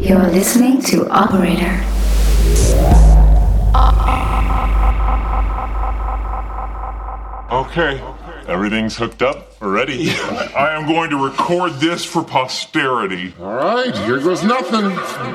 You're listening to Operator. Okay, everything's hooked up. We're ready. I am going to record this for posterity. All right, here goes nothing.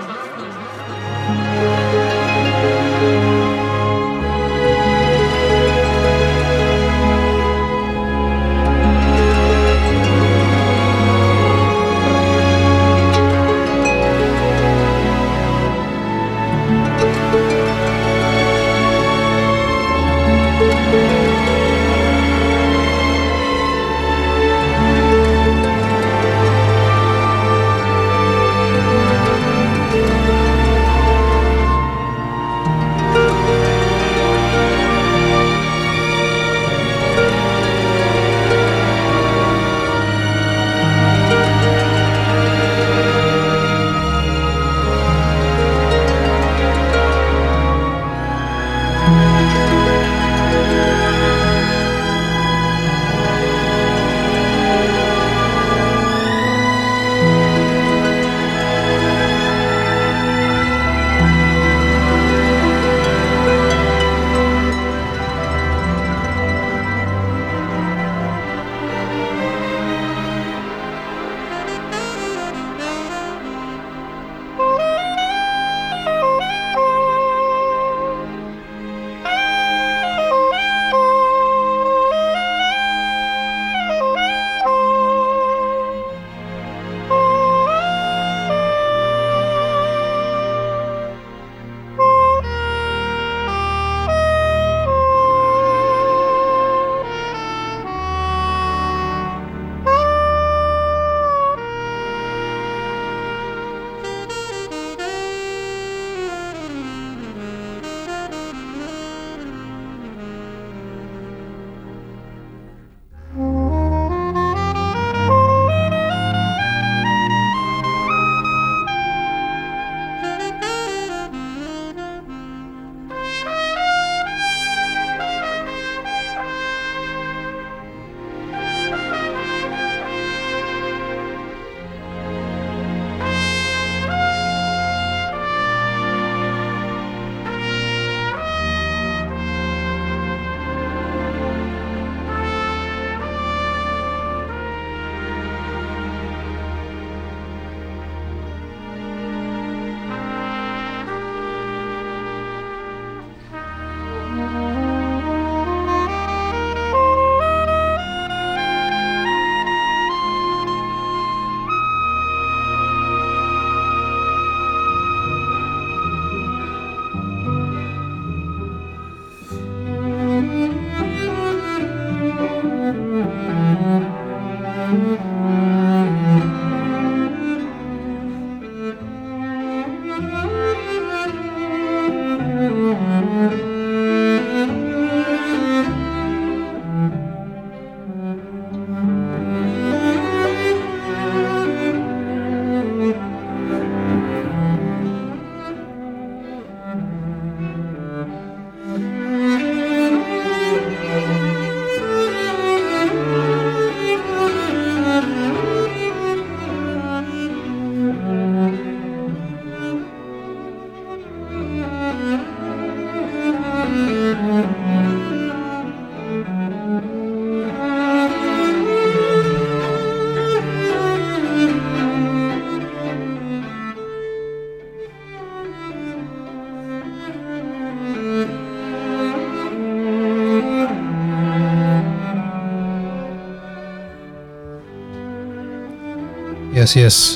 Yes.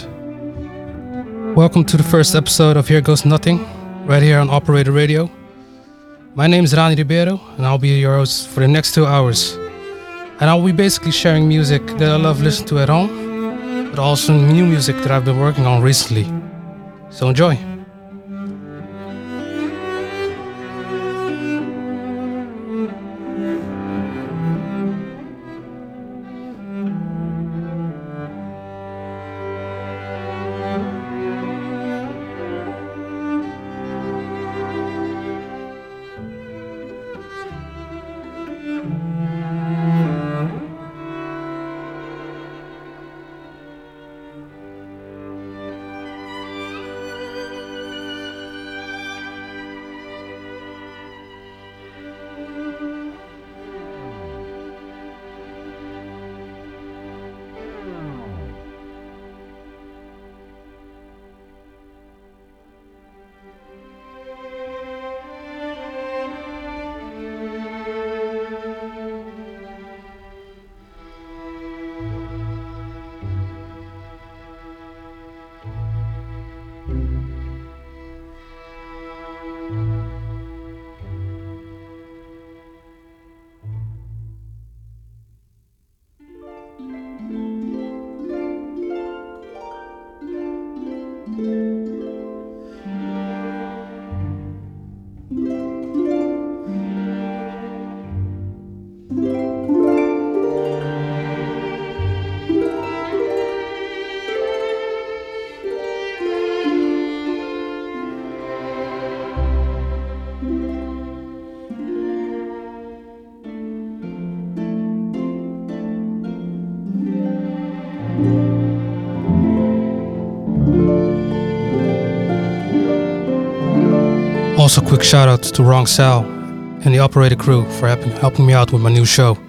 Welcome to the first episode of Here Goes Nothing, right here on Operator Radio. My name is Rani Ribeiro, and I'll be your host for the next 2 hours. And I'll be basically sharing music that I love listening to at home, but also new music that I've been working on recently. So enjoy. Also, quick shout out to Wrong Sal and the operator crew for helping me out with my new show.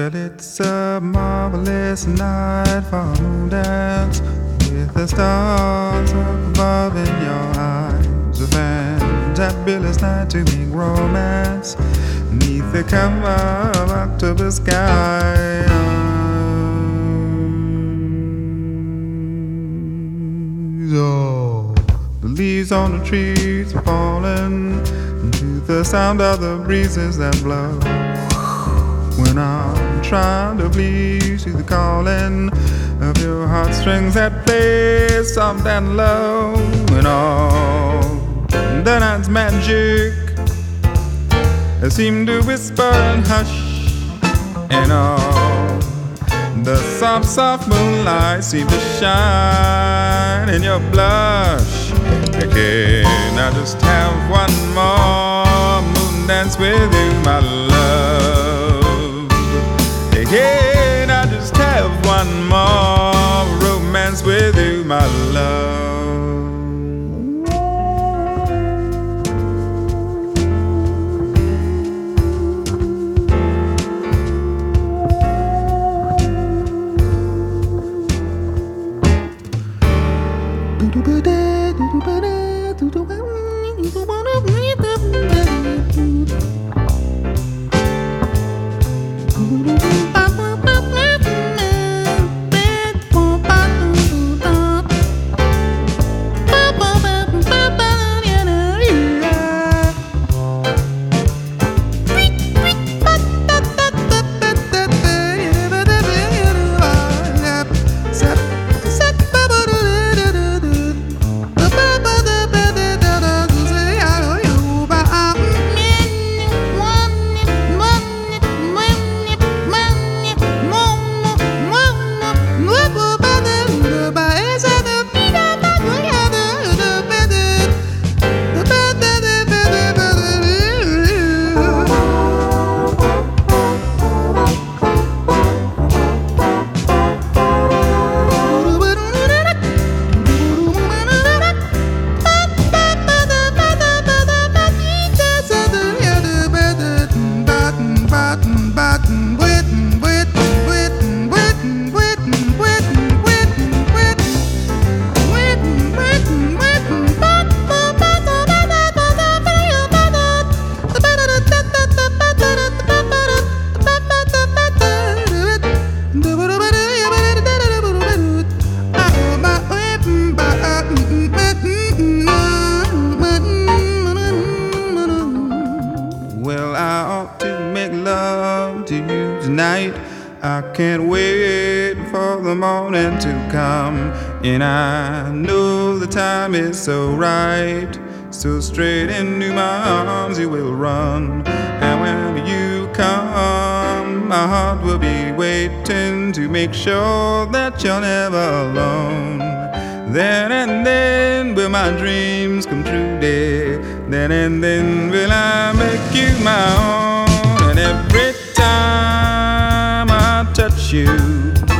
Well, it's a marvelous night for a moon dance with the stars up above in your eyes. A fantabulous night to make romance neath the cover of October sky. Oh, the leaves on the trees are falling to the sound of the breezes that blow. When I'm trying to please you, the calling of your heartstrings that play soft and low. And all the night's magic seem to whisper and hush, and all the soft, soft moonlight seem to shine in your blush. Can I just have one more moon dance with you, my love? Can I just have one more romance with you, my love? And I know the time is so right, so straight into my arms you will run. And when you come, my heart will be waiting to make sure that you're never alone. Then and then will my dreams come true, dear. Then and then will I make you my own. And every time I touch you,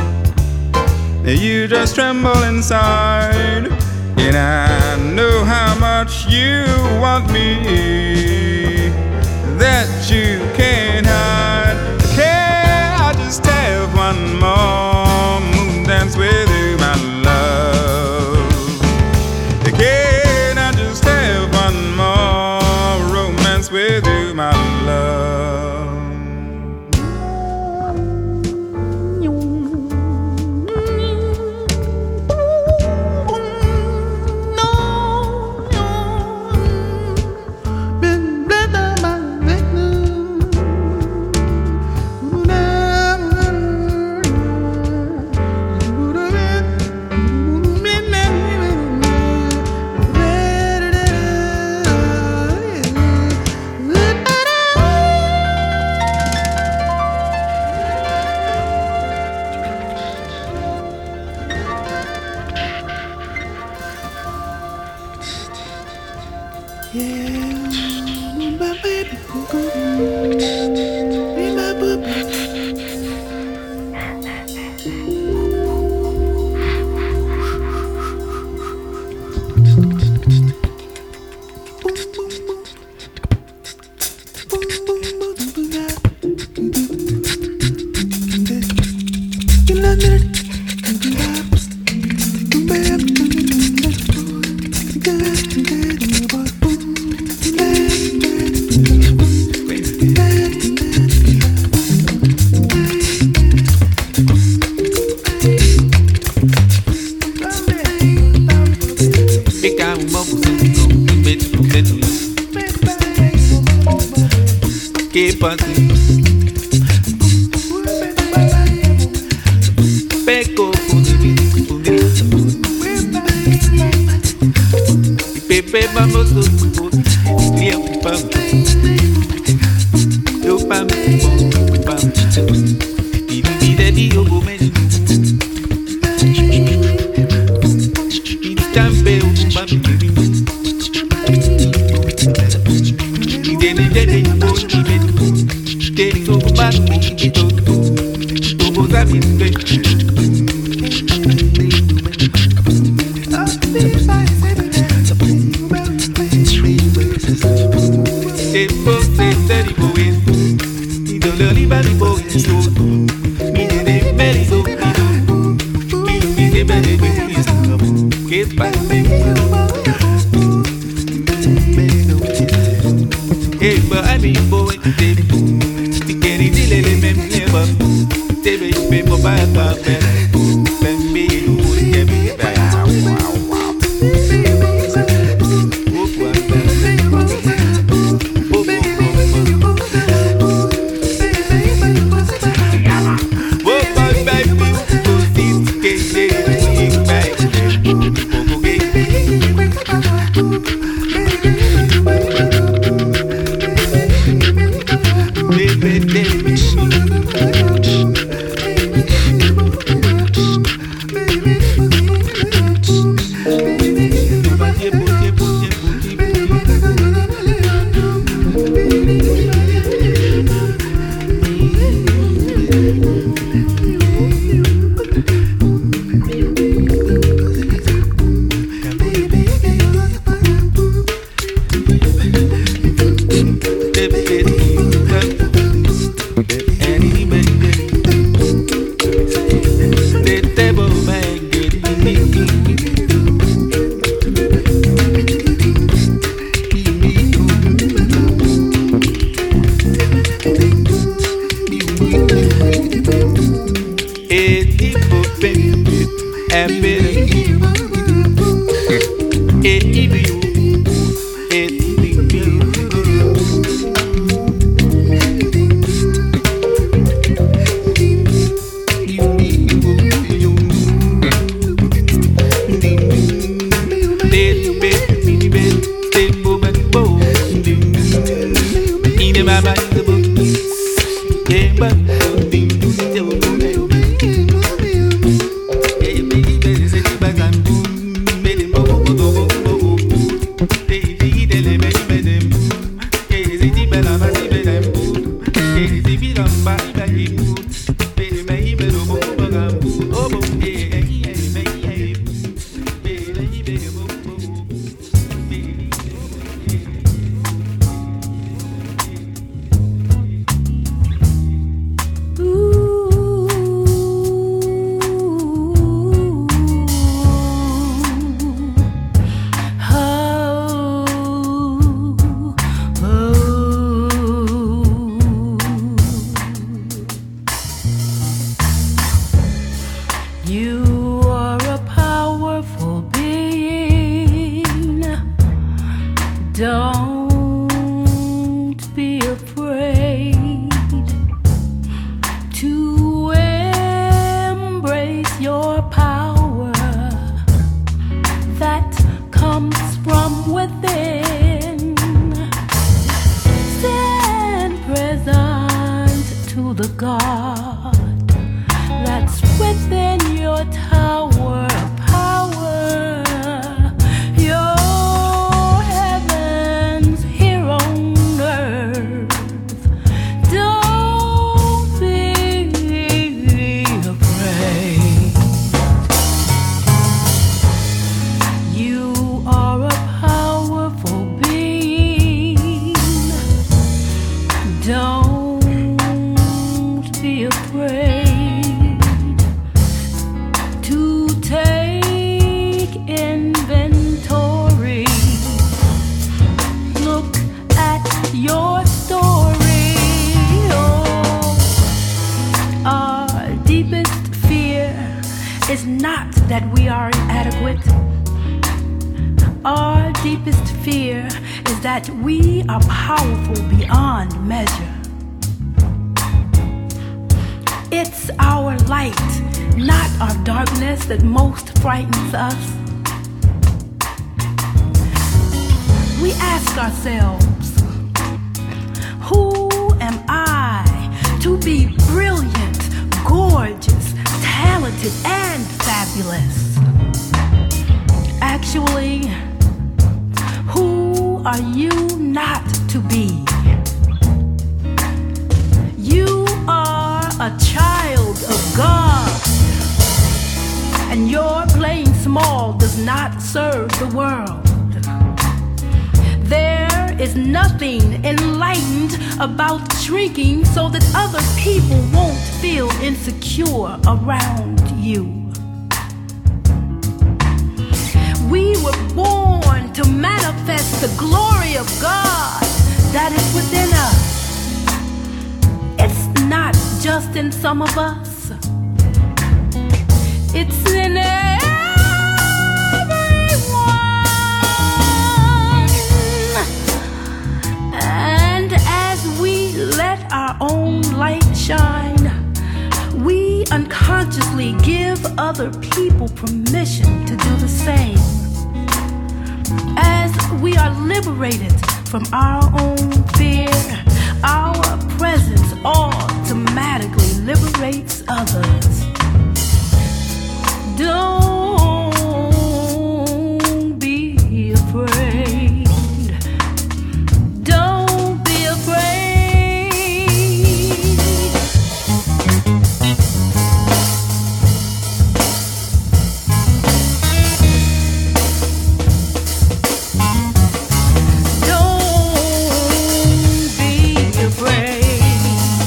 you just tremble inside, and I know how much you want me, that you can't hide. Can I just have one more moon dance with you, my love? Can I just have one more romance with you, my love? is not that we are inadequate. Our deepest fear is that we are powerful beyond measure. It's our light, not our darkness, that most frightens us. We ask ourselves, who am I to be brilliant, gorgeous, talented, and fabulous? Actually, who are you not to be? You are a child of God, and your playing small does not serve the world. There is nothing enlightened about shrinking so that other people won't feel insecure around you. We were born to manifest the glory of God that is within us. It's not just in some of us. It's in everyone. And as we let our own light shine, we unconsciously give other people permission to do the same. As we are liberated from our own fear, our presence automatically liberates others. Don't be afraid. Don't be afraid. Don't be afraid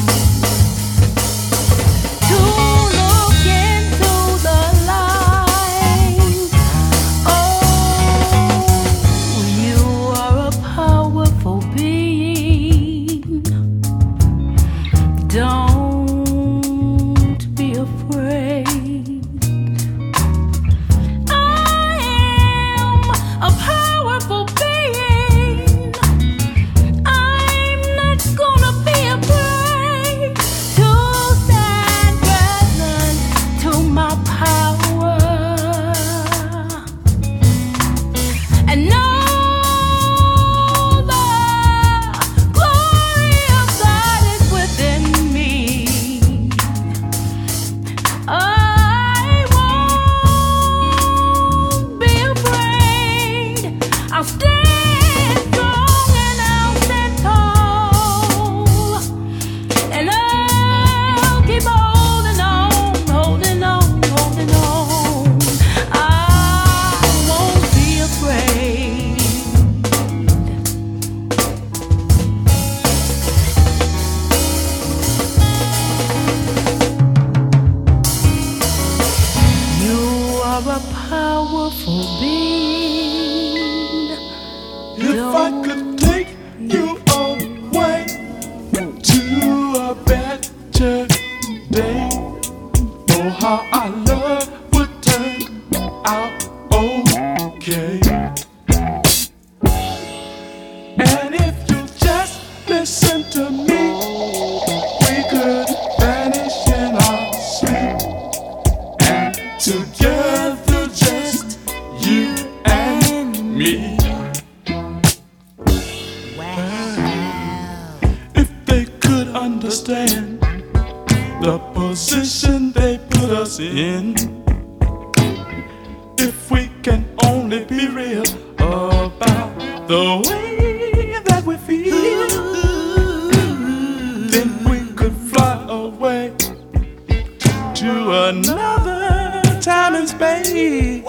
to look into the light. Oh, you are a powerful being. Don't be afraid. I am a powerful being. I'm not gonna be afraid to stand present to my power and know the glory of God is within me. I won't be afraid. I'll stand strong and I'll stand tall, and I'll keep holding on, holding on, holding on. I won't be afraid. You are a powerful being. If I could take you away to a better day, oh how our love would turn out okay. And if you just listen to me, we could vanish in our sleep, and together just you and me. If they could understand the position they put us in, if we can only be real about the way that we feel, then we could fly away to another time and space.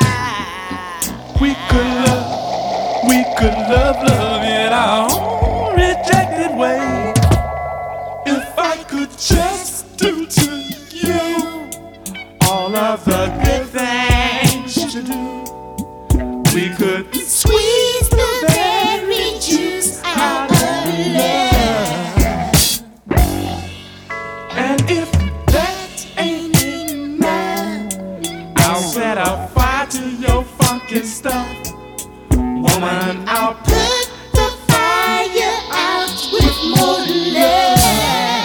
We could love in our own rejected way. If I could just do to you all of the good things you do, we could squeeze the very juice out of love. And if that ain't enough, funky stuff. Woman, I'll put the fire out with more love.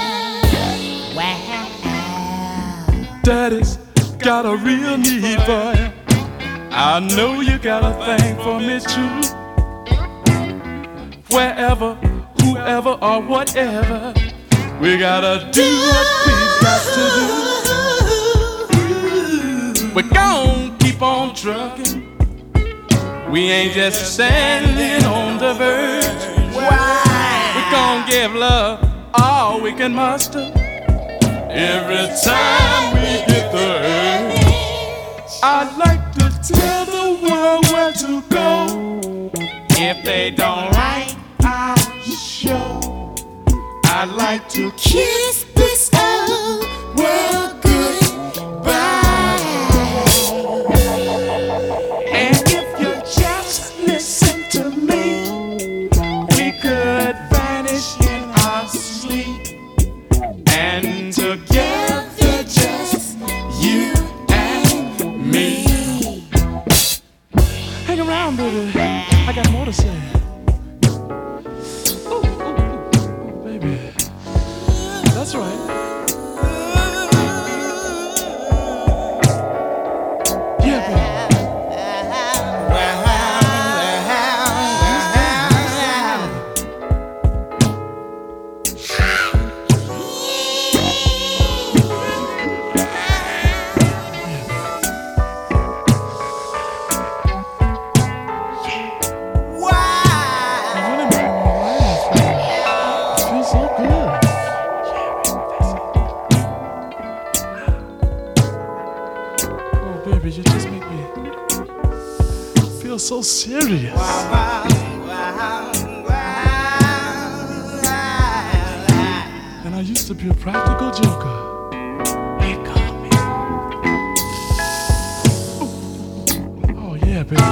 Wow. Daddy's got a real need for you. I know you got a thing for me too. Wherever, whoever or whatever, we gotta do what we got to do. We're gon' keep on trucking. We ain't just standing on the verge. We're gon' give love all we can muster. Every time we hit the earth, I'd like to tell the world where to go. If they don't like our show, I'd like to kiss this old world goodbye. And if you just listen to me, we could vanish in our sleep. And together just you and me. Hang around, baby, I got more to say. Ooh, baby, that's right. Yeah, baby. So serious. And I used to be a practical joker. They call me. Oh yeah, baby.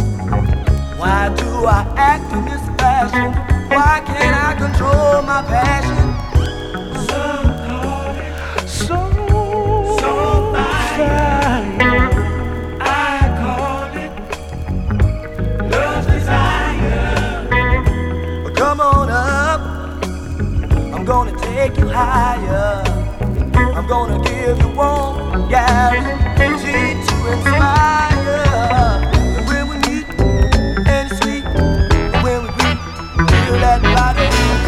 Why do I act in this fashion? Why can't I control my passion? take you higher. I'm gonna give you one guarantee to inspire. And when we meet and it's sweet, and when we meet, feel that body.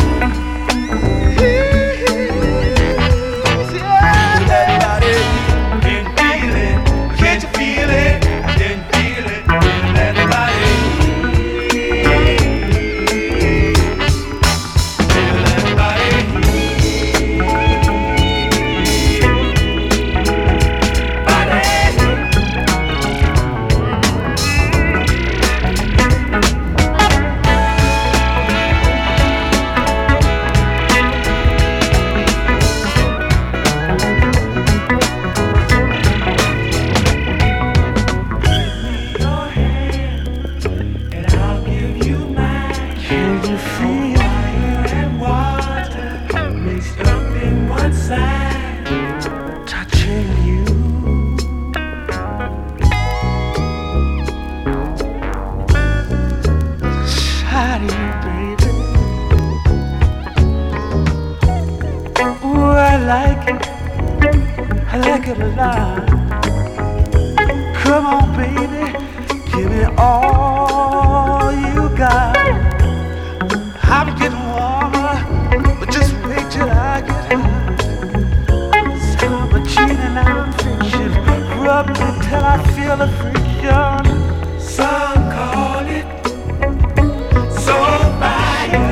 I like it a lot. Come on, baby, give me all you got. I'm getting warmer, but just wait till I get high. Some are cheating, I'm fiction. Rub me till I feel the friction. Some call it soul fire.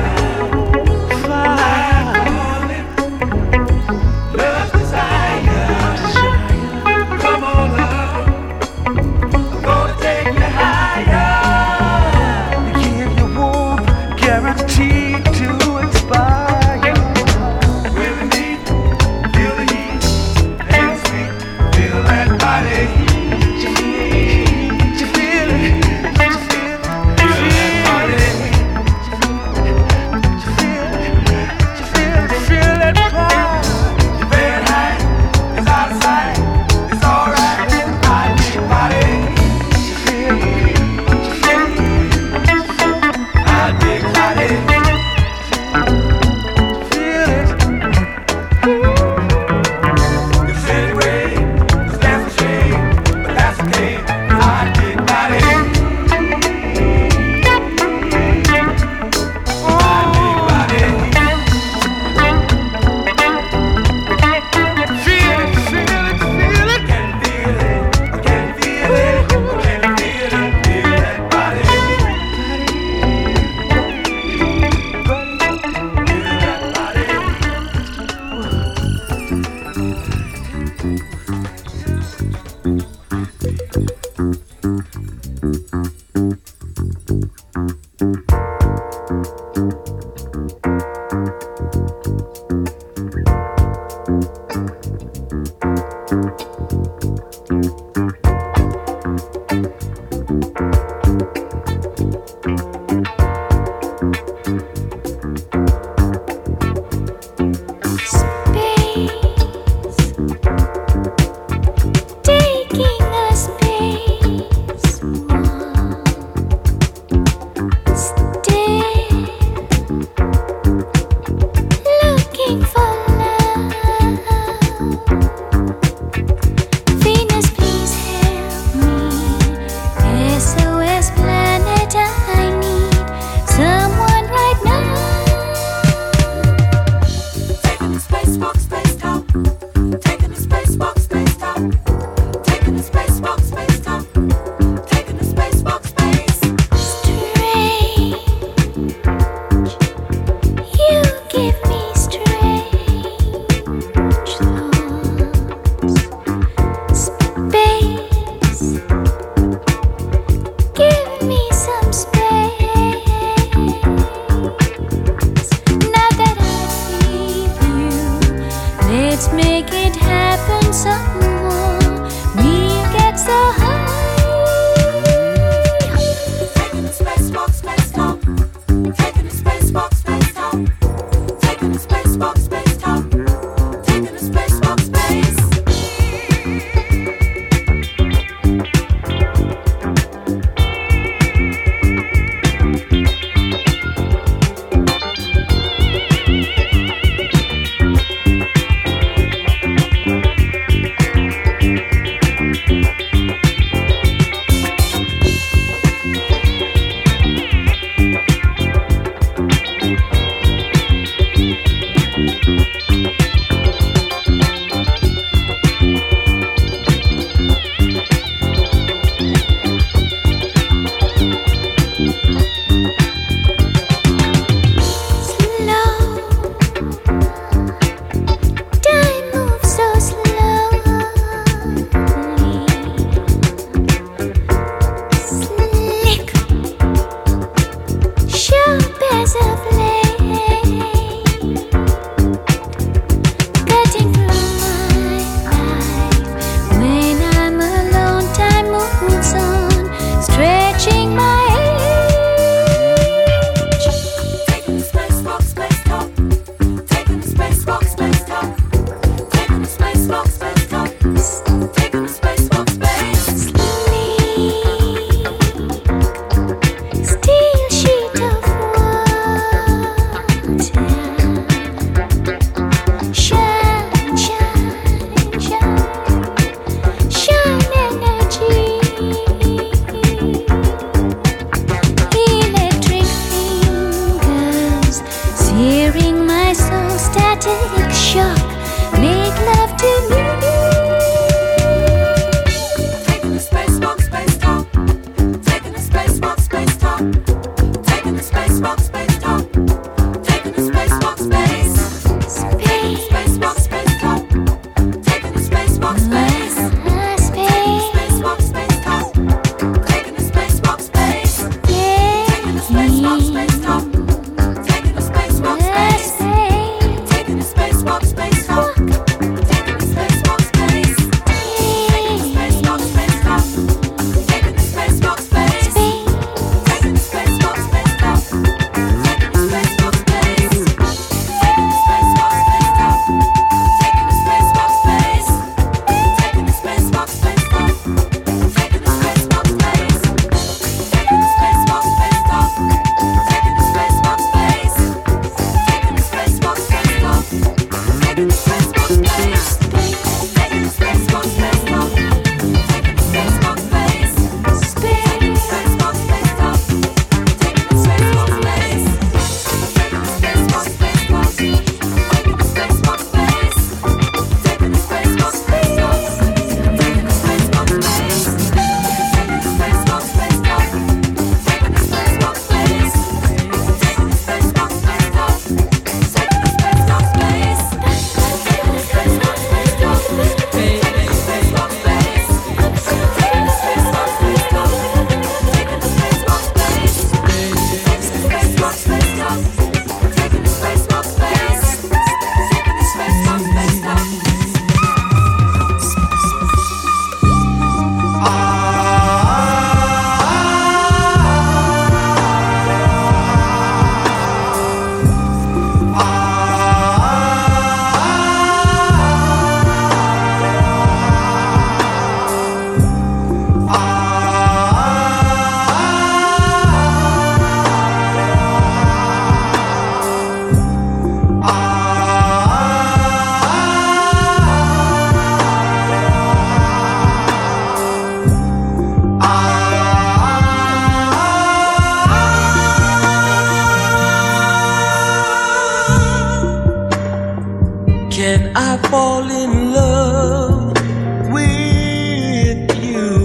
I fall in love with you?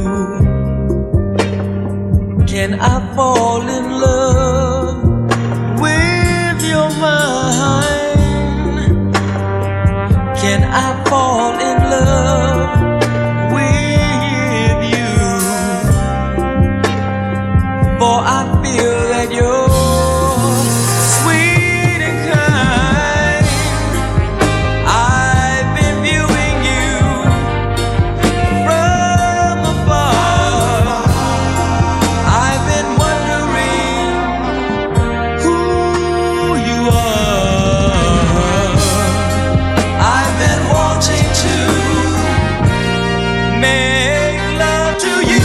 Can I fall in love with your mind? Can I fall in love with you? For I feel that you're sweet and kind. I've been viewing you from afar. I've been wondering who you are. I've been wanting to make love to you.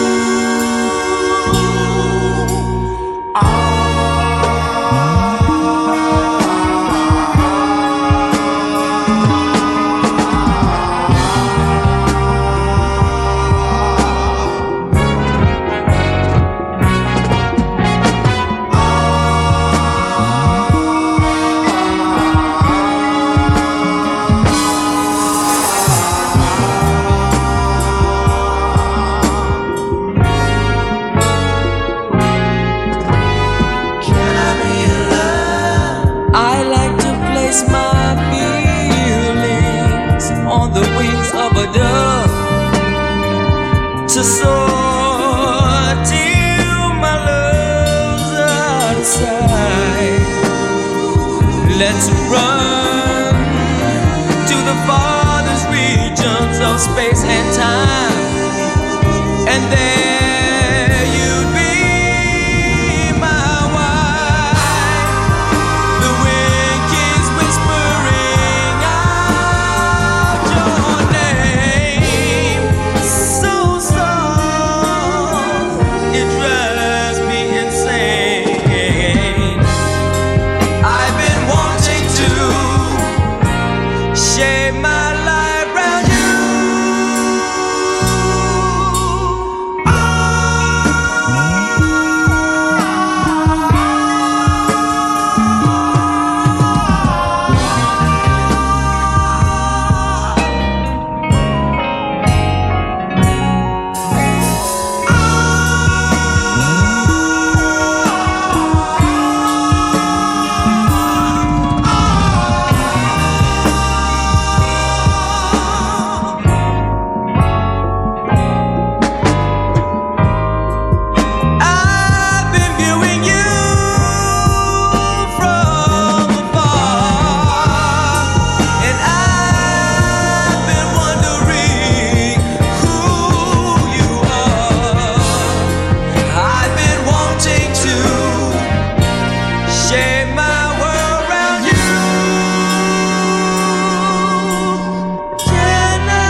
I like to place my feelings on the wings of a dove to soar till my love's outside. Let's run to the farthest regions of space and time, and there you'd be my wife. The wind keeps whispering out your name so soft, it drives me insane. I've been wanting to shape my life round you. I've been viewing you from afar, and I've been wondering who you are. I've been wanting to shape my world around you. Can I?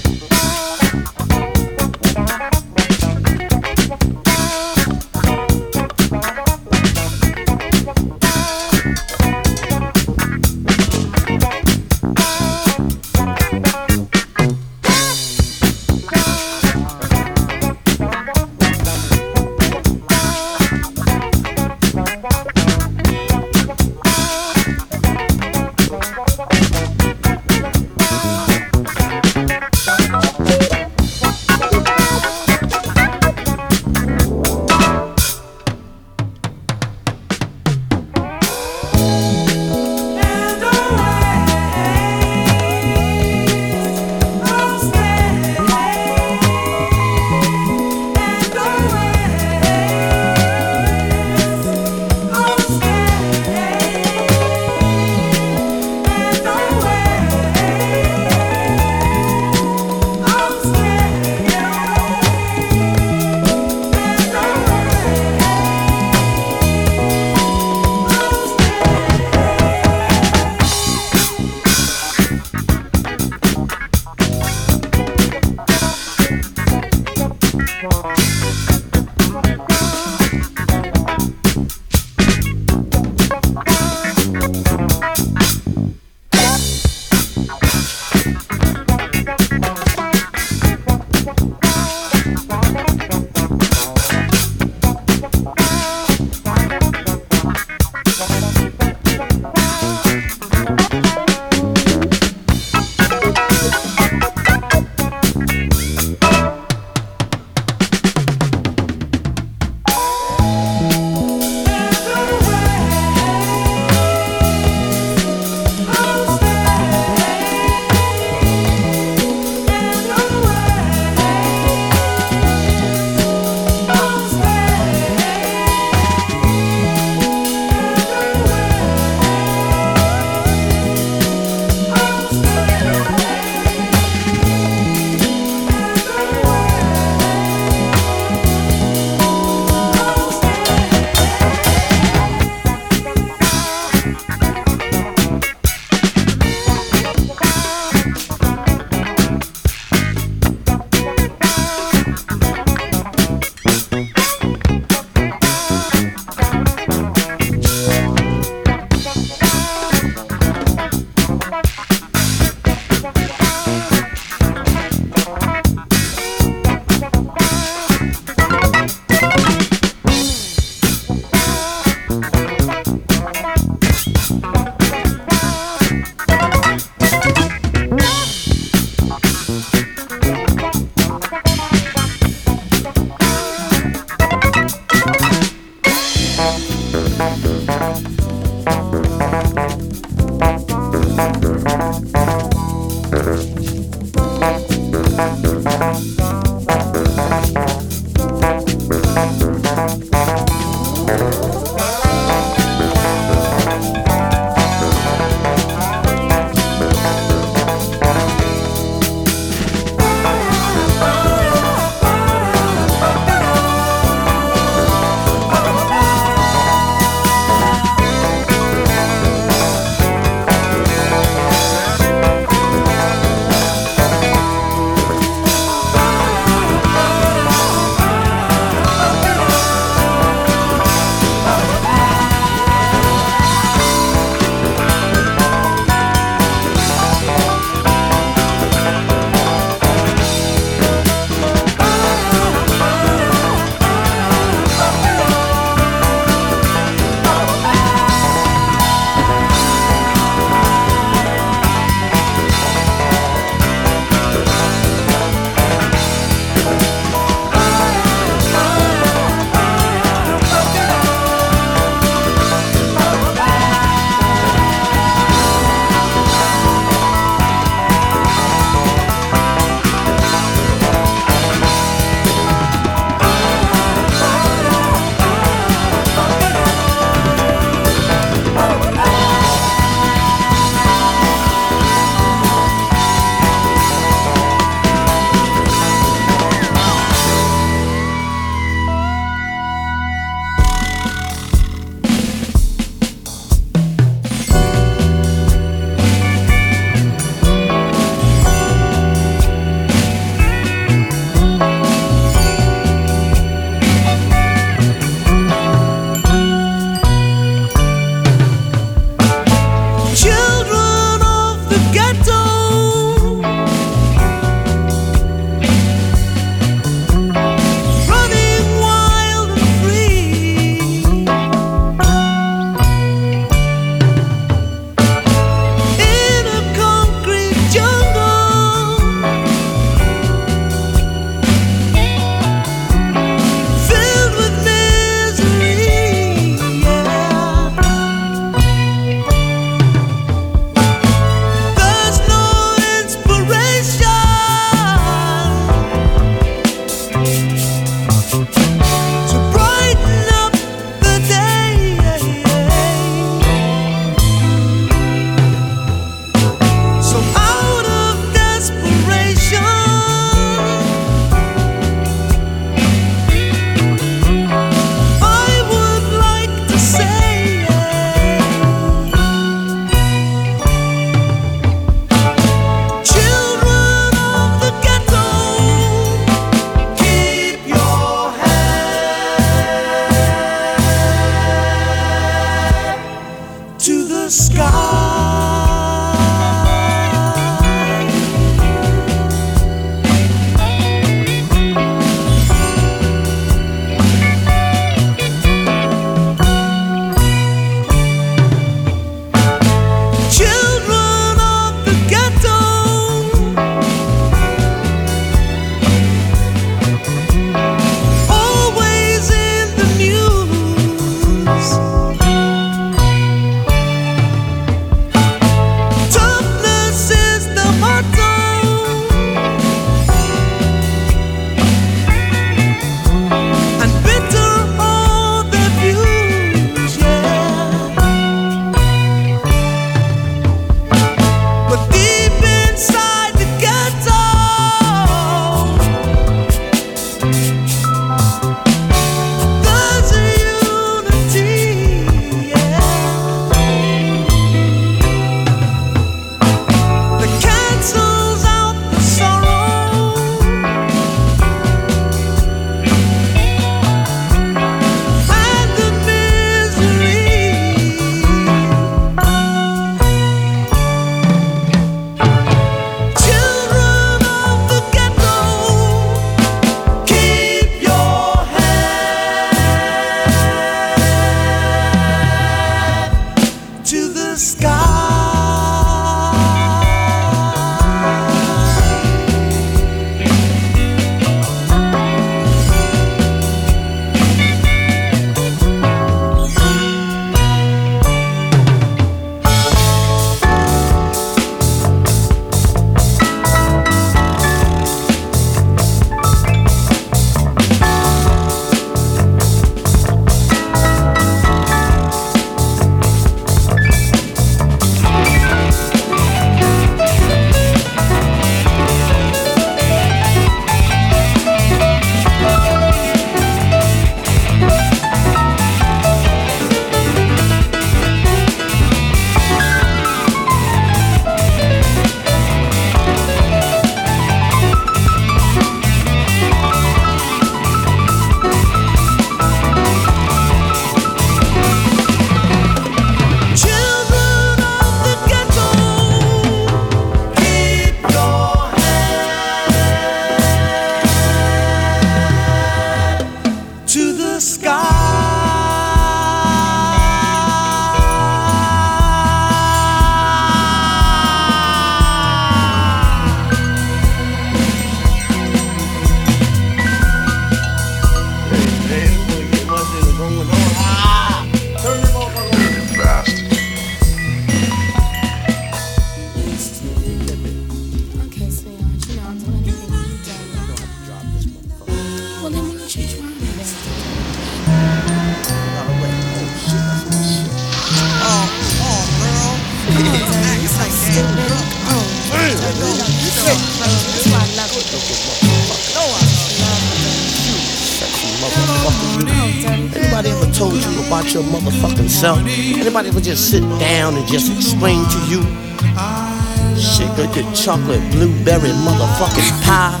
Anybody ever told you about your motherfucking self? Anybody ever just sit down and just explain to you? Shit, got your chocolate blueberry motherfucking pie.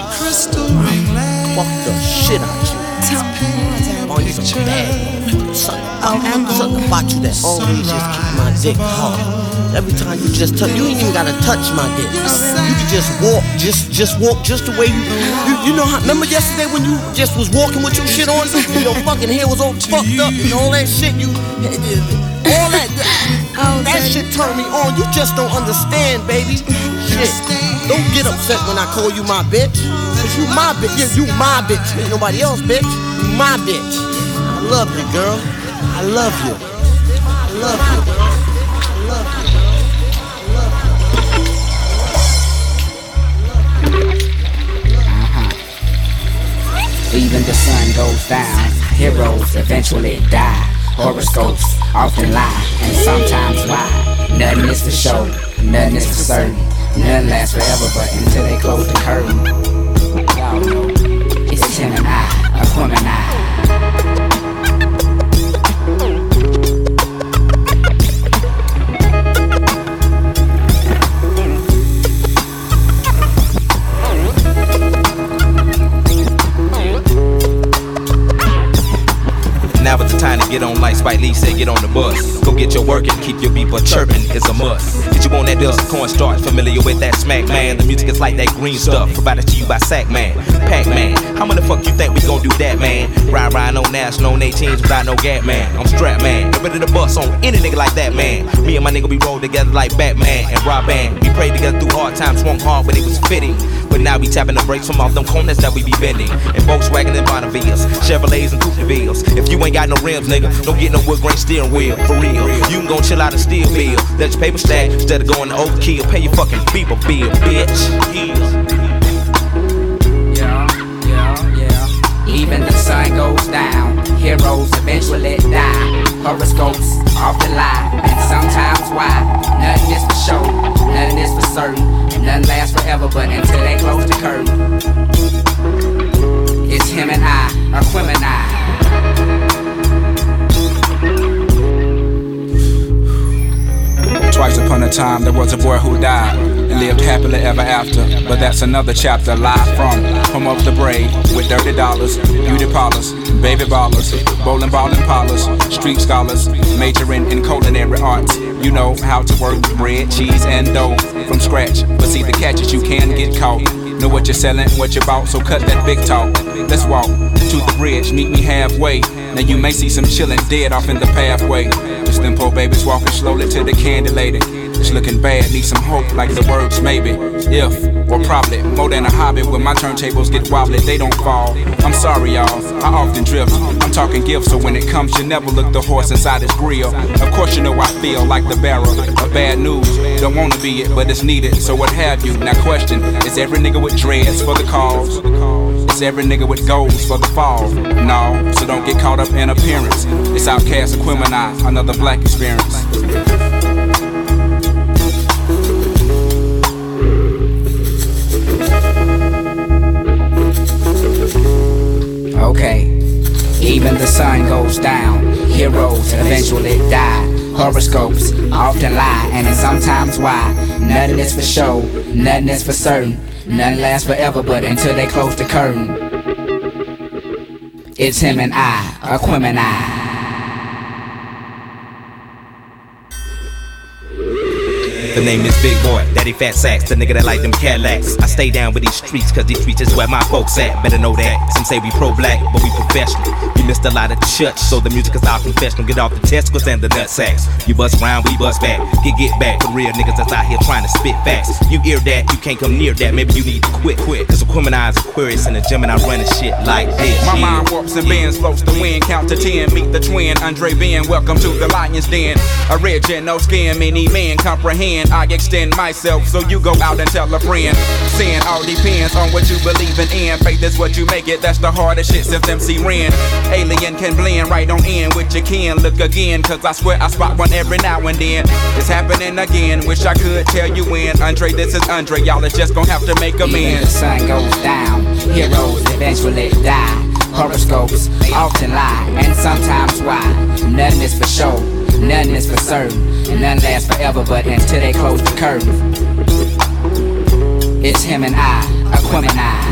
Fuck the shit out you. Oh, you're some bad motherfucking something about you that always just keep my dick hard. Every time you just touch, you ain't even gotta touch my dick. You can just walk, just walk just the way you know how. Remember yesterday when you just was walking with your shit on, and your fucking hair was all fucked up and all that shit. All that shit turned me on. You just don't understand, baby. Shit, don't get upset when I call you my bitch, 'cause you my bitch. Yeah, you my bitch. Ain't nobody else, bitch. You my bitch. I love you, girl. I love you. I love you. I love you. Even the sun goes down, heroes eventually die. Horoscopes often lie, and sometimes why. Nothing is for show, nothing is for certain. Nothing lasts forever, but until they close the curtain. Y'all know, it's him and I, Aquemini. Now it's the time to get on like Spike Lee said, get on the bus. Go get your work and keep your beeper chirping, it's a must. Get you on that dust cornstarch, familiar with that smack man. The music is like that green stuff, provided to you by Sack Man, Pac Man. How many fuck you think we gon' do that, man? Ride no national, on 18s without no gap, man. I'm strapped, man. Get ready to bust on any nigga like that, man. Me and my nigga, we roll together like Batman and Robin. We prayed together through hard times, swung hard when it was fitting. But now we tapping the brakes from off them corners that we be bending. And Volkswagen and Bonnevilles, Chevrolets and Coupevilles. If you ain't got no rims, nigga, don't get no wood grain steering wheel, for real. You can go chill out a steel bill. Let your paper stack instead of going to overkill. Pay your fucking beeper bill, bitch. Yeah. Even the sun goes down, heroes eventually die. Horoscopes often lie, and sometimes why. Nothing is for show, nothing is for certain. And nothing lasts forever, but until they close the curtain. It's him and I, Aquemini. Twice upon a time there was a boy who died and lived happily ever after. But that's another chapter, live from home of the brave, with dirty dollars, beauty parlors, baby ballers, bowling ball and parlors, street scholars, majoring in culinary arts. You know how to work bread, cheese, and dough from scratch. But see, the catch is you can get caught. Know what you're selling, what you bought, so cut that big talk. Let's walk to the bridge, meet me halfway. Now you may see some chillin' dead off in the pathway. Just them poor babies walking slowly to the candy lady. It's looking bad, need some hope like the words maybe. If, or probably, more than a hobby. When my turntables get wobbly, they don't fall. I'm sorry y'all, I often drift. I'm talking gifts, so when it comes you never look the horse inside his grill. Of course you know I feel like the bearer of bad news. Don't wanna be it, but it's needed, so what have you. Now question, is every nigga with dreads for the cause? Is every nigga with goals for the fall? No, so don't get caught up in appearance. It's Outcast Aquemini, another black experience. Okay, even the sun goes down, heroes eventually die. Horoscopes often lie, and it's sometimes why. Nothing is for show, nothing is for certain. Nothing lasts forever, but until they close the curtain. It's him and I, Aquemini. The name is Big Boy, Daddy Fat Sacks, the nigga that like them Cadillacs. I stay down with these streets, cause these streets is where my folks at. Better know that. Some say we pro-black, but we professional. We missed a lot of the church, so the music is our confessional. Get off the testicles and the nut sacks. You bust round, we bust back. Get back for real niggas that's out here trying to spit facts. You hear that, you can't come near that. Maybe you need to quit. Cause Aquemini is Aquarius in the gym and I run shit like this. My mind warps and bends, floats the wind, count to 10. Meet the twin, Andre Ben, welcome to the Lion's Den. A red jet, no skin, many men comprehend. then I extend myself. So you go out and tell a friend. Sin all depends on what you believe in. Faith is what you make it, that's the hardest shit since MC Ren. Alien can blend right on in with your kin. Look again, cause I swear I spot one every now and then. It's happening again, wish I could tell you when. Andre, this is Andre, y'all is just gonna have to make amends. Even the sun goes down, heroes eventually die. Horoscopes often lie, and sometimes why. Nothing is for show, nothing is for certain, and none lasts forever but until they close the curtain. It's him and I, Aquemini.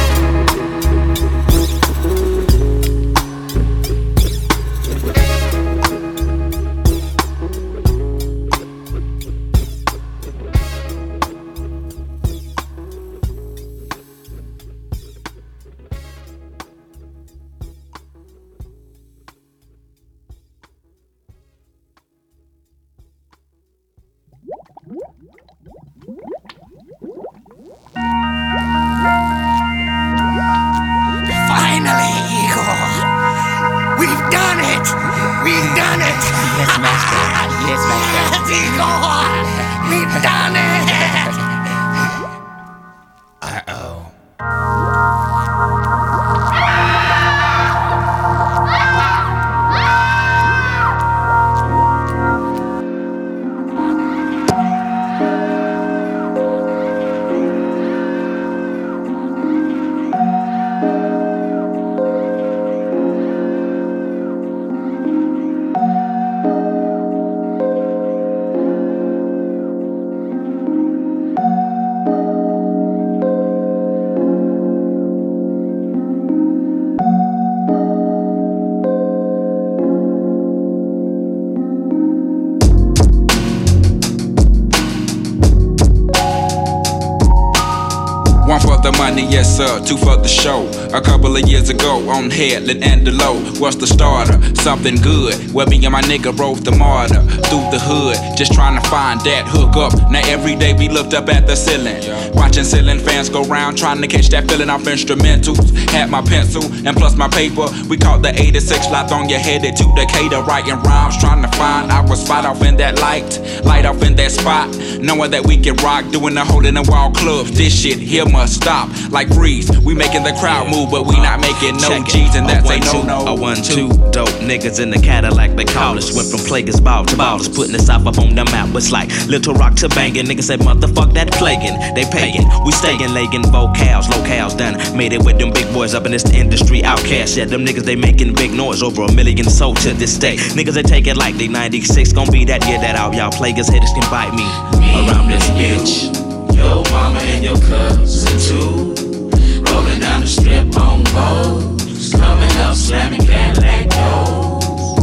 Yes sir, 2 for the show. A couple of years ago on Headland and Delow was the starter, something good. Where me and my nigga rode the martyr through the hood, just trying to find that hook up. Now every day we looked up at the ceiling, watching ceiling fans go round, trying to catch that feeling off instrumentals. Had my pencil and plus my paper. We caught the 86 lot on your headed to Decatur, writing rhymes, trying to find our spot off in that light off in that spot. Knowing that we can rock, doing the hole in the wall clubs. This shit here must stop. Like Freeze, we making the crowd move, but we not making no G's, and that's a no-no. A 1-2 dope niggas in the Cadillac, they call us. Went from Plaguers ball to ballers, putting the South up on the map. It's like Little Rock to banging. Niggas said motherfuck that plaguing. They paying, we staying, legging vocals, locales done. Made it with them big boys up in this industry outcast. Yeah, them niggas they making big noise, over 1 million sold to this day. Niggas they take it like they 96, gon' be that year that out. Y'all Plaguers haters can bite me around this bitch. Your mama and your cousin too, rolling down the strip on boats, coming up slamming Cadillac doors.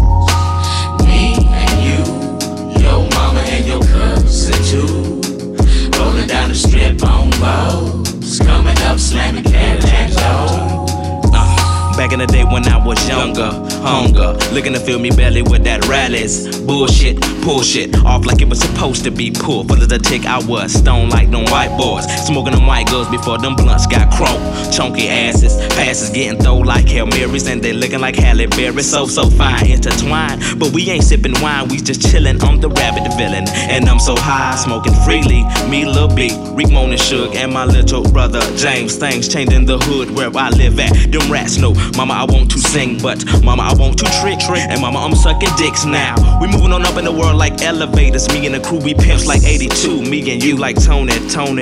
Me and you, your mama and your cousin too, rolling down the strip on boats, coming up slamming Cadillac doors. Back in the day when I was younger, hunger, looking to fill me belly with that rallies. Bullshit, pull shit, off like it was supposed to be pulled. Full as a tick, I was stoned like them white boys, smoking them white girls before them blunts got croaked. Chunky asses, passes getting thrown like Hail Marys, and they looking like Halle Berry. So fine, intertwined, but we ain't sipping wine, we just chillin'. I'm the rabbit villain, and I'm so high, smoking freely. Me, Lil B, Rick Moan and Suge, and my little brother James. Things changing the hood where I live at. Them rats know, mama, I want to sing, but mama, I want to trick, and mama, I'm sucking dicks now. We moving on up in the world like elevators. Me and the crew, we pimps like 82. Me and you like Tone.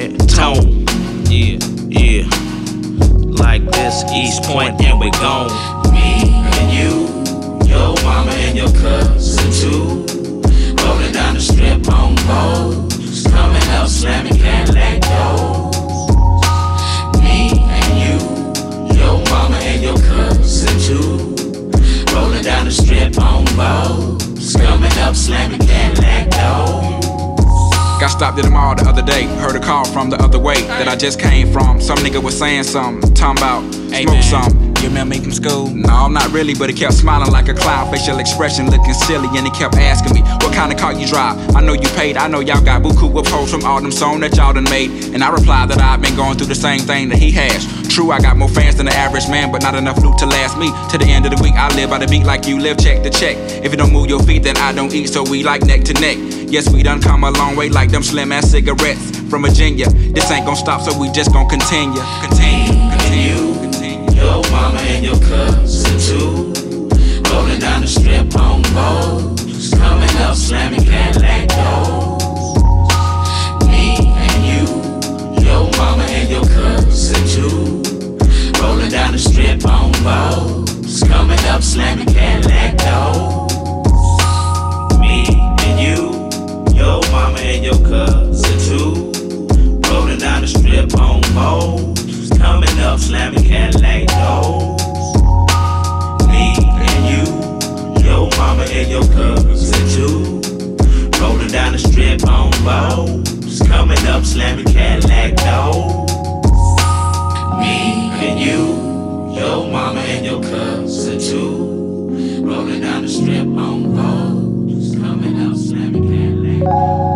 Yeah. Like this, East Point, and we gone. Me and you, your mama and your cousin too, rolling down the strip on boats, coming up slamming Cadillac doors. Me and you, your mama and your cousin too, rolling down the strip on boats, coming up slamming Cadillac doors. Got stopped at the mall the other day, heard a call from the other way that I just came from. Some nigga was saying something, talking about smoke something. You remember me from school? No, not really, but he kept smiling like a clown, facial expression looking silly, and he kept asking me, what kind of car you drive? I know you paid, I know y'all got buku of hoes from all them songs that y'all done made. And I replied that I've been going through the same thing that he has. True, I got more fans than the average man, but not enough loot to last me. To the end of the week, I live by the beat like you live check to check. If you don't move your feet, then I don't eat, so we like neck to neck. Yes, we done come a long way like them slim ass cigarettes from Virginia. This ain't gon' stop, so we just gon' continue. Your mama and your cousin too, rolling down the strip on boats, coming up slamming Cadillac doors. Me and you, your mama and your cousin too, rolling down the strip on boats, coming up slamming Cadillac doors. Me and you, your mama and your cousin too, rolling down the strip on boats, coming up slamming Cadillac doors. Me and you, your mama and your cousin too, rolling down the strip on boats, coming up slamming Cadillac doors. Me and you, your mama and your cousin too, rolling down the strip on boats, coming up slamming Cadillac doors.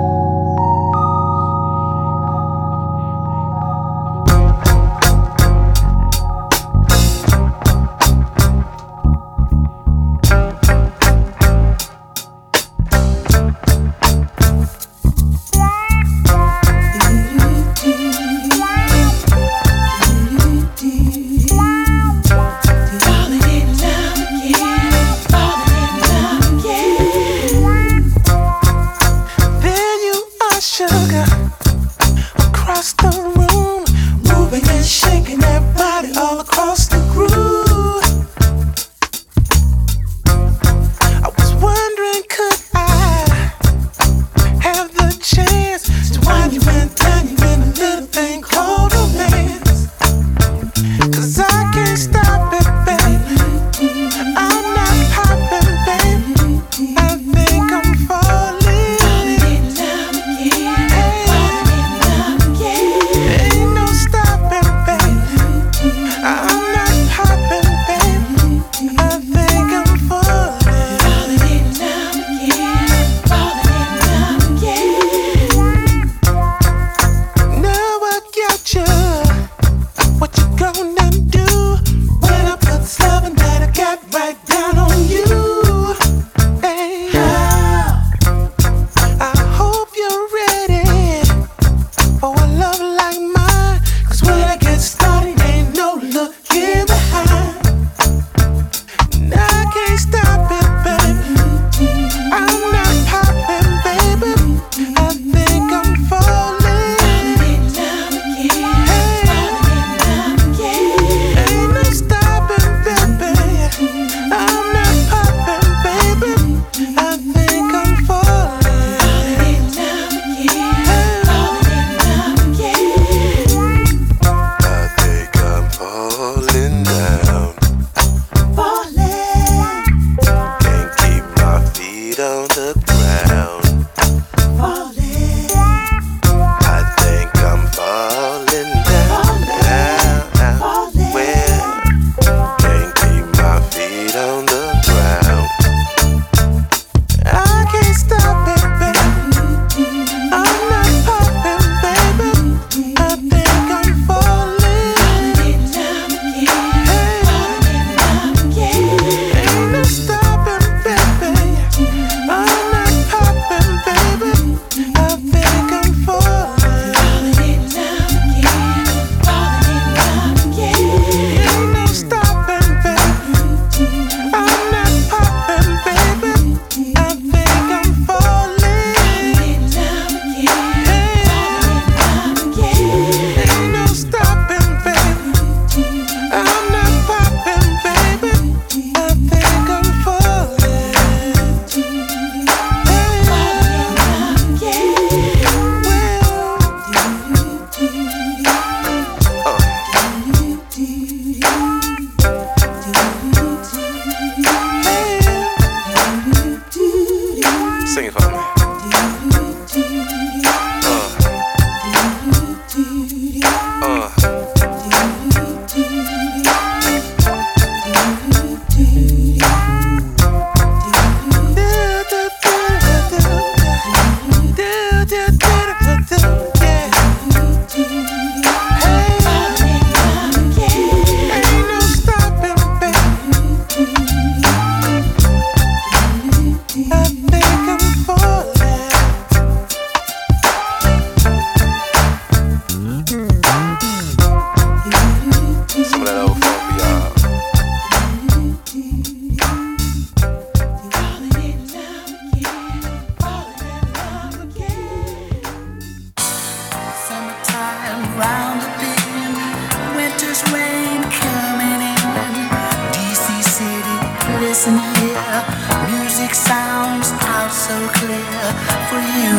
Listen here, music sounds out so clear for you.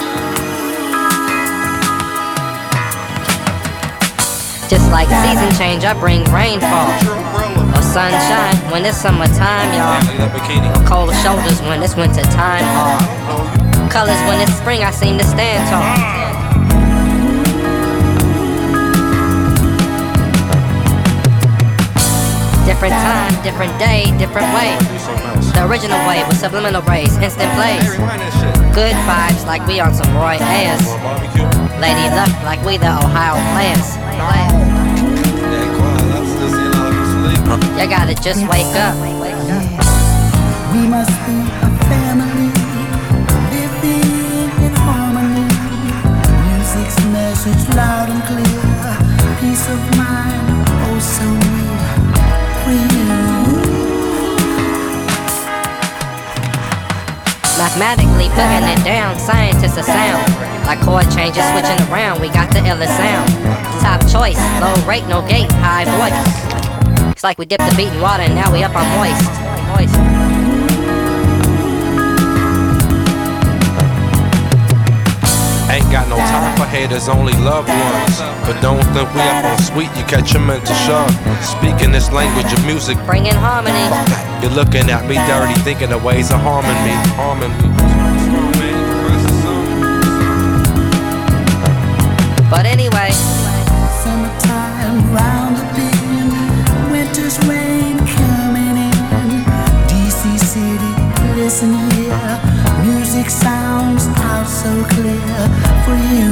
Just like season change, I bring rainfall or sunshine when it's summertime, y'all. Or cold shoulders when it's winter time, or colors when it's spring, I seem to stand tall. Different time, different day, different way. The original way with subliminal rays, instant plays. Good vibes like we on some Roy Ayers. Lady Luck like we the Ohio players. You gotta just wake up. We must be a family, living in harmony. Music's message loud and clear. Peace of mind, oh so near for you. Mathematically putting it down, scientists are sound. Like chord changes switching around, we got the illest sound. Top choice, low rate, no gate, high voice. It's like we dipped the beat in water and now we up on moist. Ain't got no time for haters, only loved ones. But don't think we up on sweet, you catch a mental shove. Speaking this language of music, bringing harmony. You're looking at me dirty, thinking of ways of harming me. But anyway, summertime round the bend, winter's rain coming in. DC City, listen here, music sounds out so clear for you.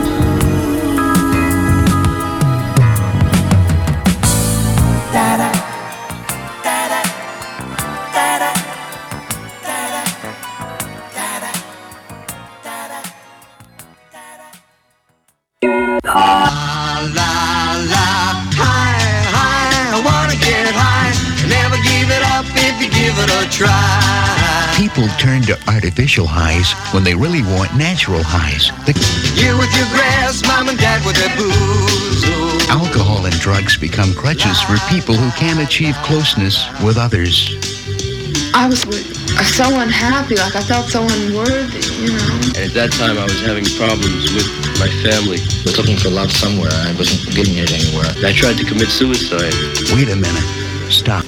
Da-da, da-da, da-da, da-da, da-da, da-da, La la, high, I wanna get high. Never give it up if you give it a try. People turn to artificial highs when they really want natural highs. You with your grass, mom and dad with their booze. Alcohol and drugs become crutches for people who can't achieve closeness with others. I was so unhappy, like I felt so unworthy, you know. And at that time I was having problems with my family. I was looking for love somewhere. I wasn't getting it anywhere. I tried to commit suicide. Wait a minute. Stop.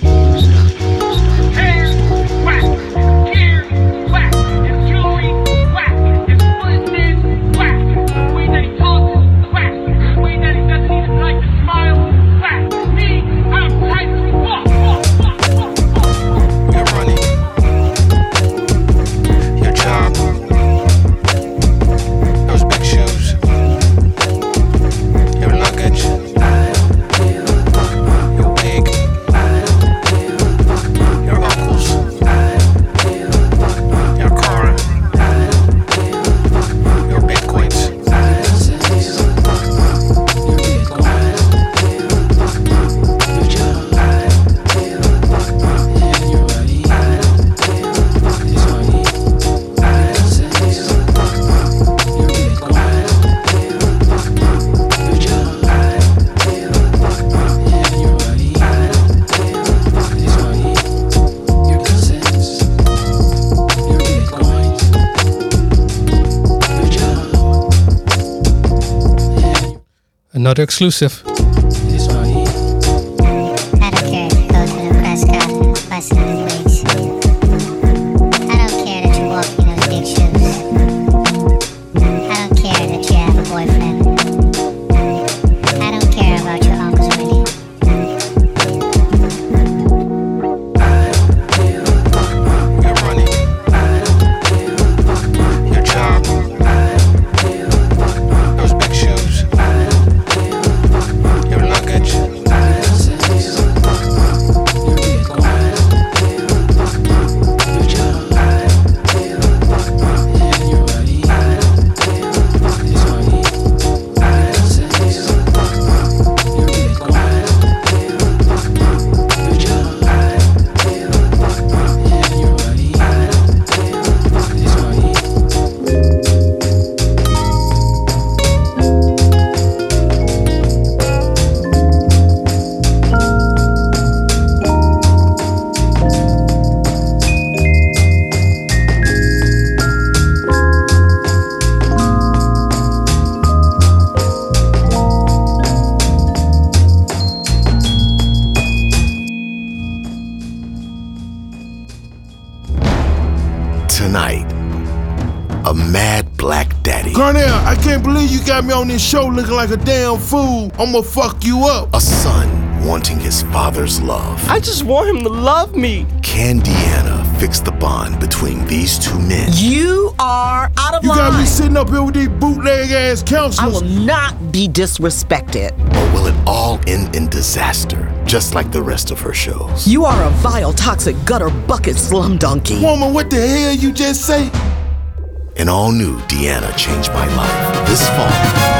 Another exclusive. I can't believe you got me on this show looking like a damn fool. I'ma fuck you up. A son wanting his father's love. I just want him to love me. Can Deanna fix the bond between these two men? You are out of line. You got me sitting up here with these bootleg ass counselors. I will not be disrespected. Or will it all end in disaster, just like the rest of her shows? You are a vile, toxic, gutter bucket slum donkey. Woman, what the hell you just say? An all-new Deanna Changed My Life this fall.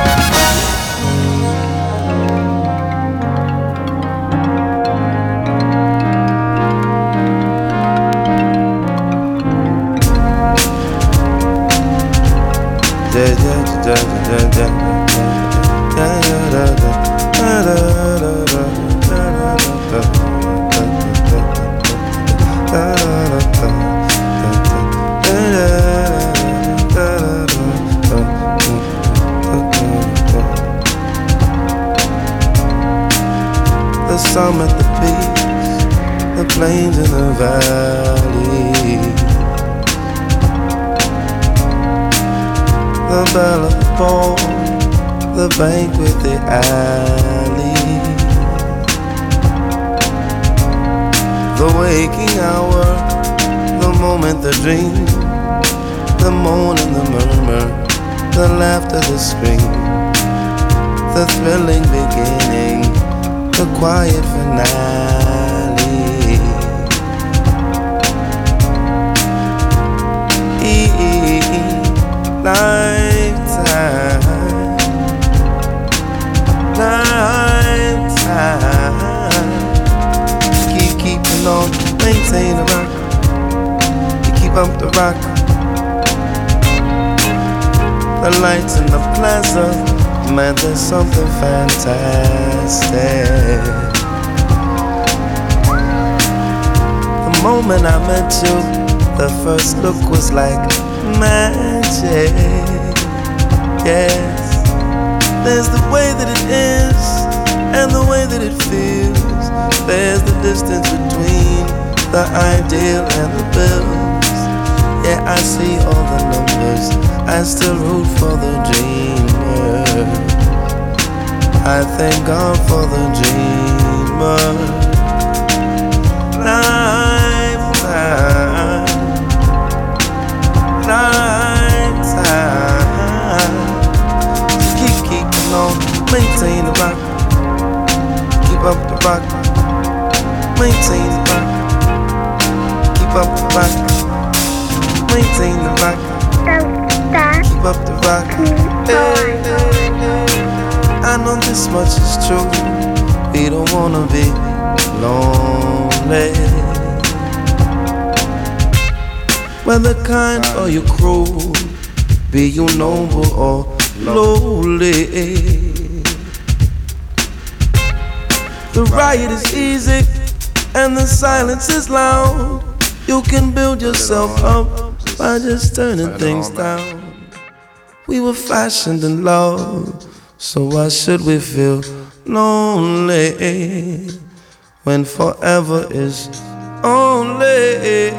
The sun at the beach, the plains in the valley, the bell of the ball, the banquet, the alley, the waking hour, the moment, the dream, the moan and the murmur, the laughter, the scream, the thrilling beginning, the quiet finale. Lifetime. Keeping on, maintain the rock. You keep up the rock. The lights in the plaza, man, there's something fantastic. The moment I met you, the first look was like magic. Yes, there's the way that it is and the way that it feels. There's the distance between the ideal and the bills. Yeah, I see all the numbers, I still root for the dreamer. I thank God for the dreamer. Lifetime, lifetime. Keeping on, maintain the rock. Keep up the rock, maintain the rock. Keep up the rock, maintain the rock. Keep up the rock. Hey, I know this much is true. We don't wanna be lonely. Whether kind or you cruel, be you noble or lowly. The riot is easy and the silence is loud. You can build yourself up by just turning things down. We were fashioned in love, so why should we feel lonely when forever is only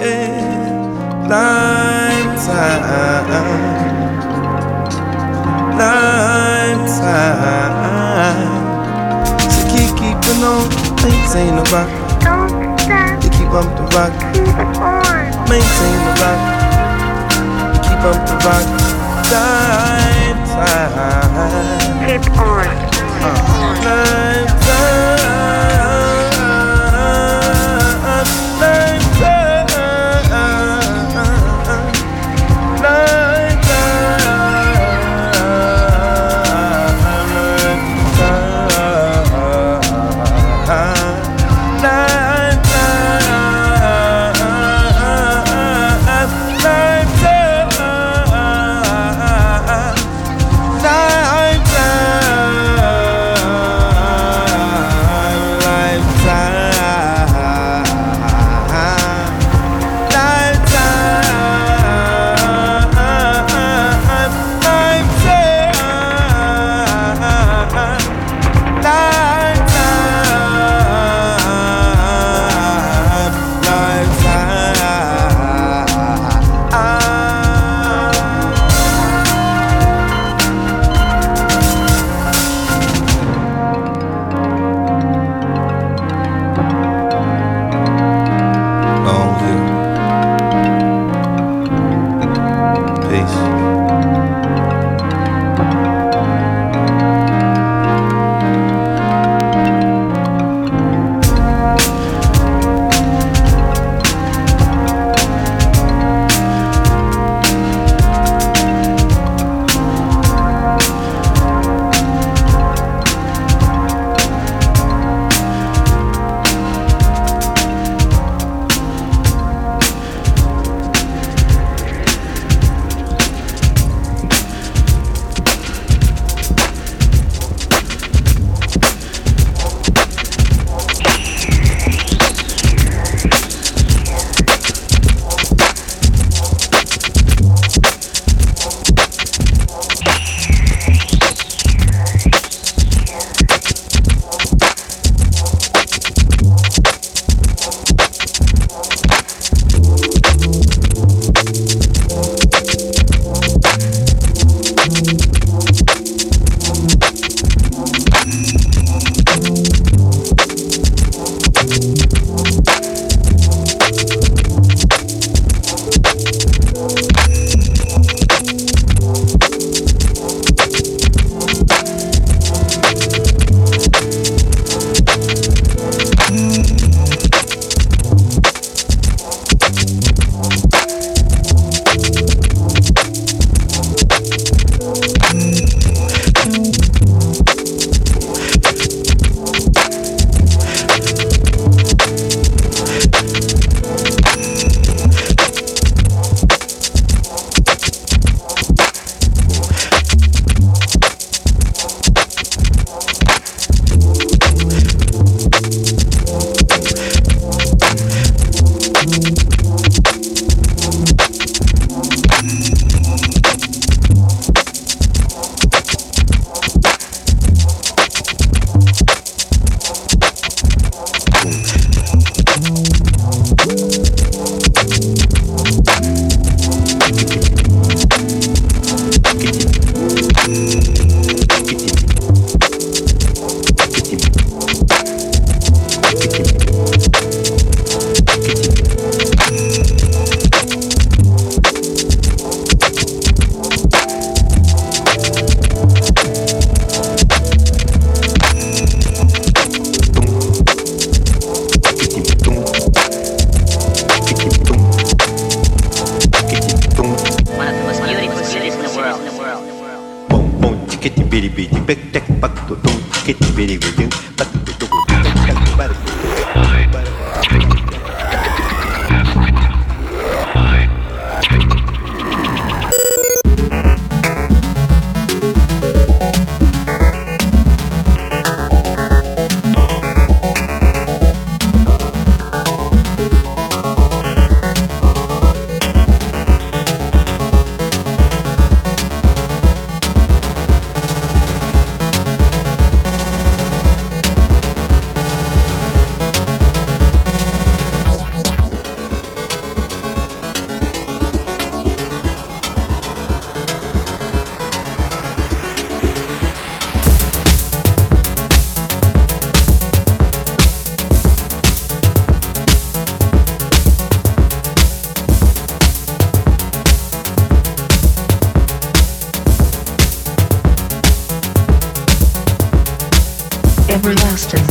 lifetime, lifetime. So keeping on, maintain the rock. Don't stop. You keep up the rock. Keep on. Maintain the rock. You keep up the rock. Lifetime. Keep on. Lifetime. Everlasting.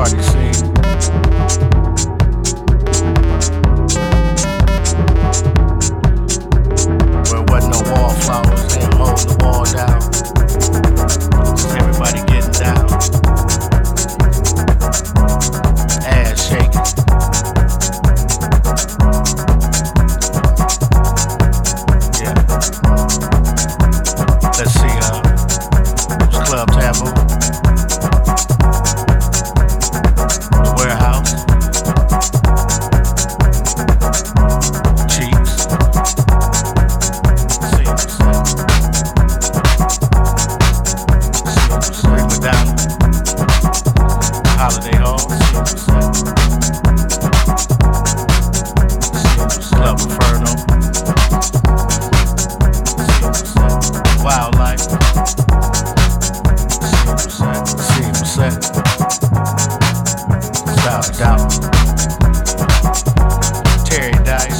party scene. Where wasn't no wallflowers, they hold the wall down. Everybody getting down. Ass shaking. Yeah. Let's see, it was Club Taboo. The Warehouse. Cheeks. Rick McDonald. Holiday Hall. Club Inferno. Wildlife. Set. Without a doubt. Terry Dice.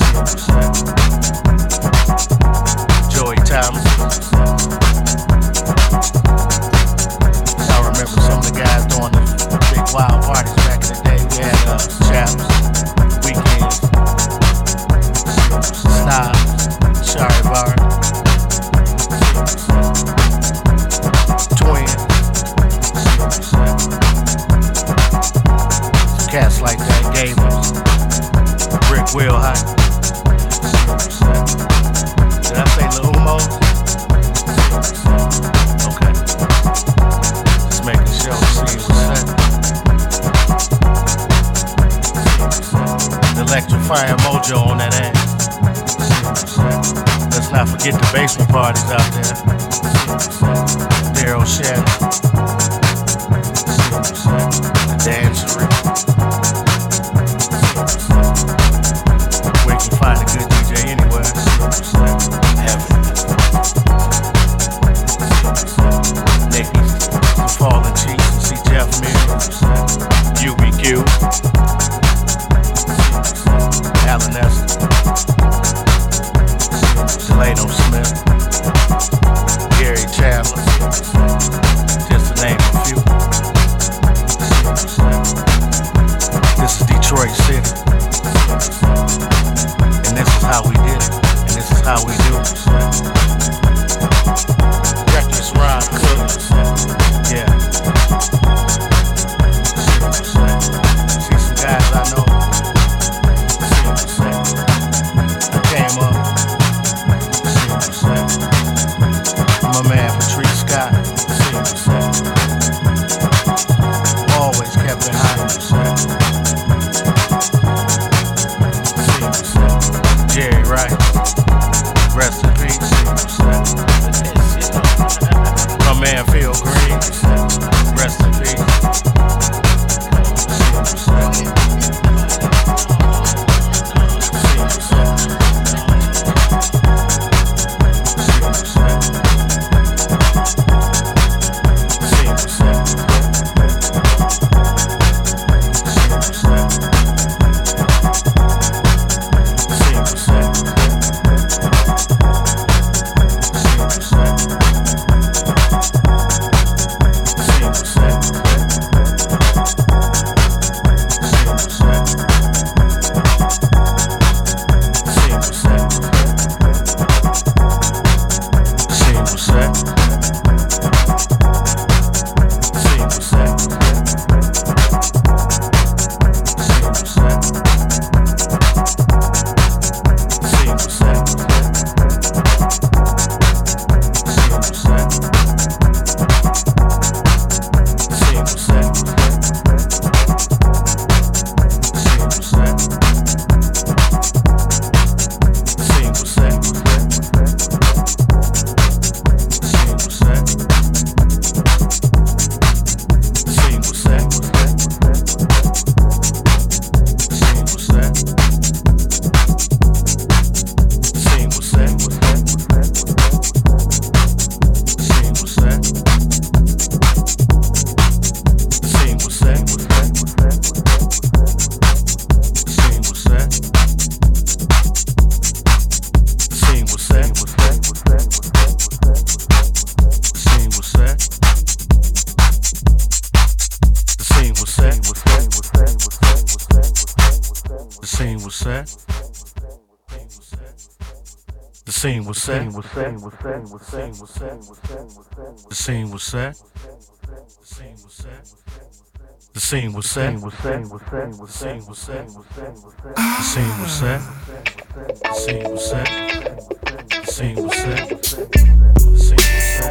Joey Thomas. I remember some of the guys doing the big wild parties back in the day. We had Chaps, Weekends, Snobs, Shari Bar, Twin. Cats like that, Gamers, Rick Wilhite. Did I say Lil Umo? Okay. Just making sure the scene was set. The electrifying mojo on that ass. Let's not forget the basement parties out there. Daryl Shannon. The dancery. Where you can find a good DJ anywhere. Heaven. Nicky's, the Fallen Chiefs, and see Jeff Mills. UBQ. Alan Esther. Delano Smith. Gary Chandler. Just to was set. The scene was set. The scene was set. The scene was set. The scene was set. The scene was set. The scene was set. The scene was set. The scene was set. The scene was set.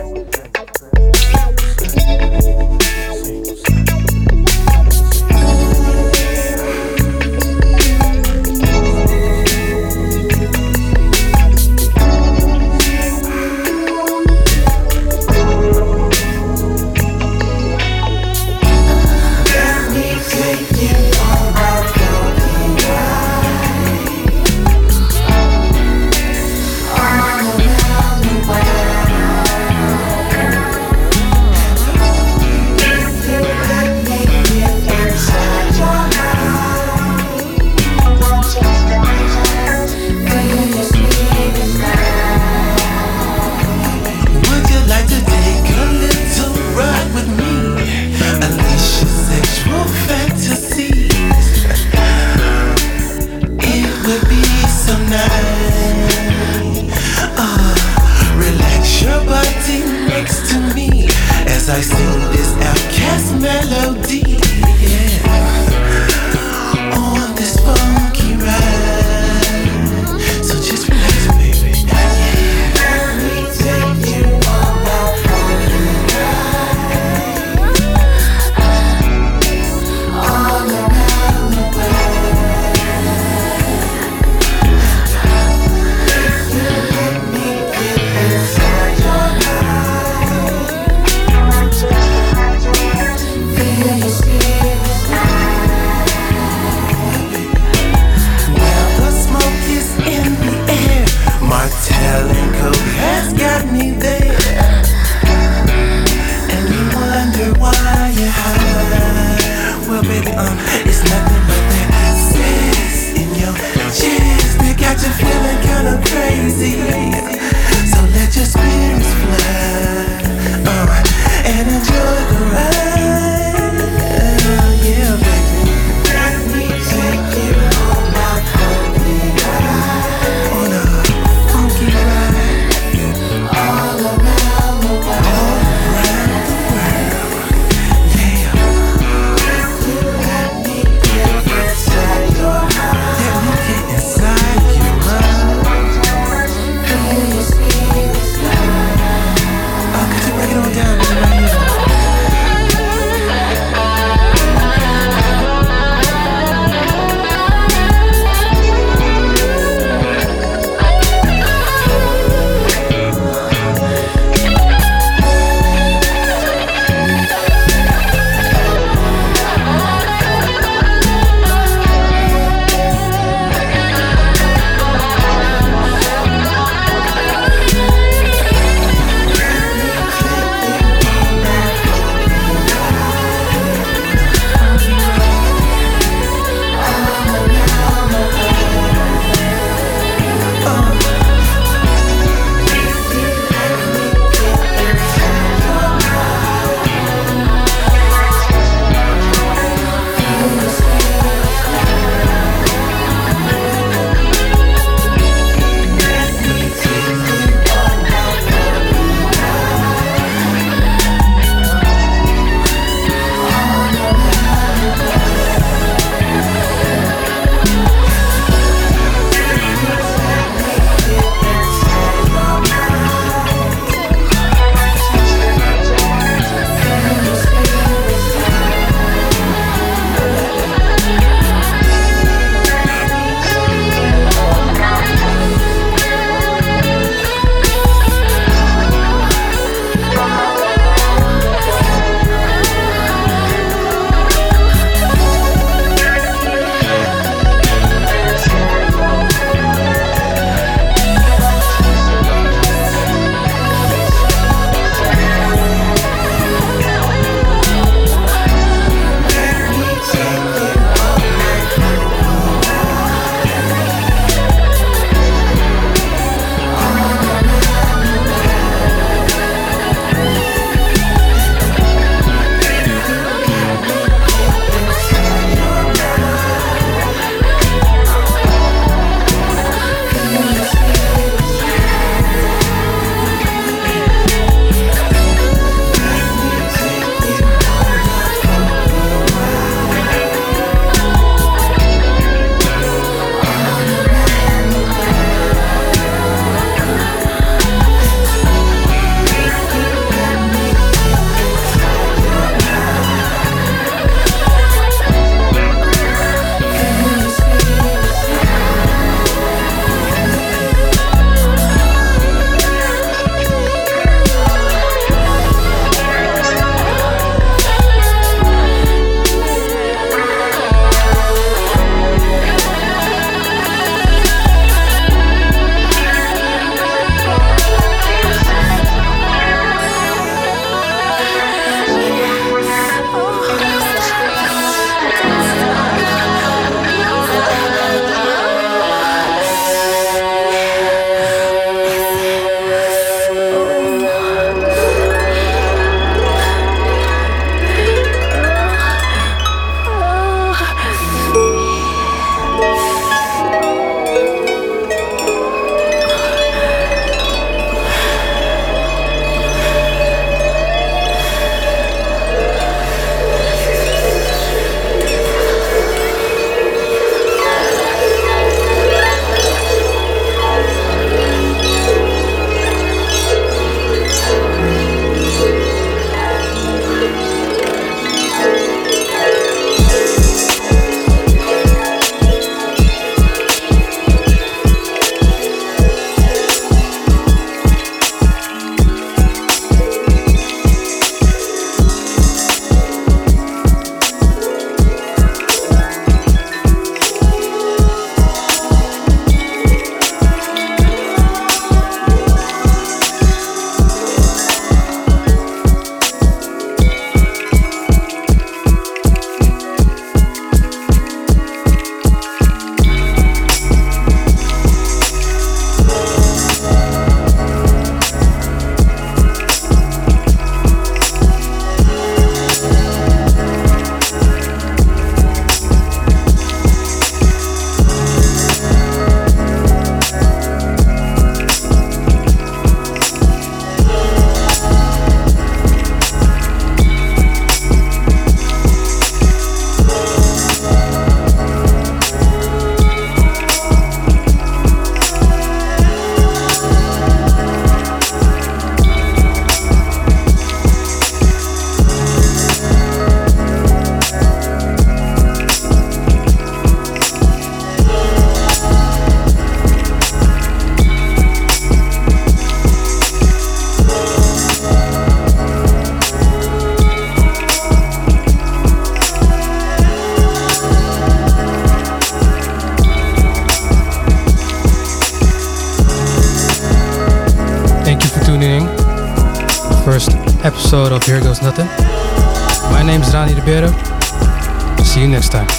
episode of Here Goes Nothing. My name is Rani Ribeiro. See you next time.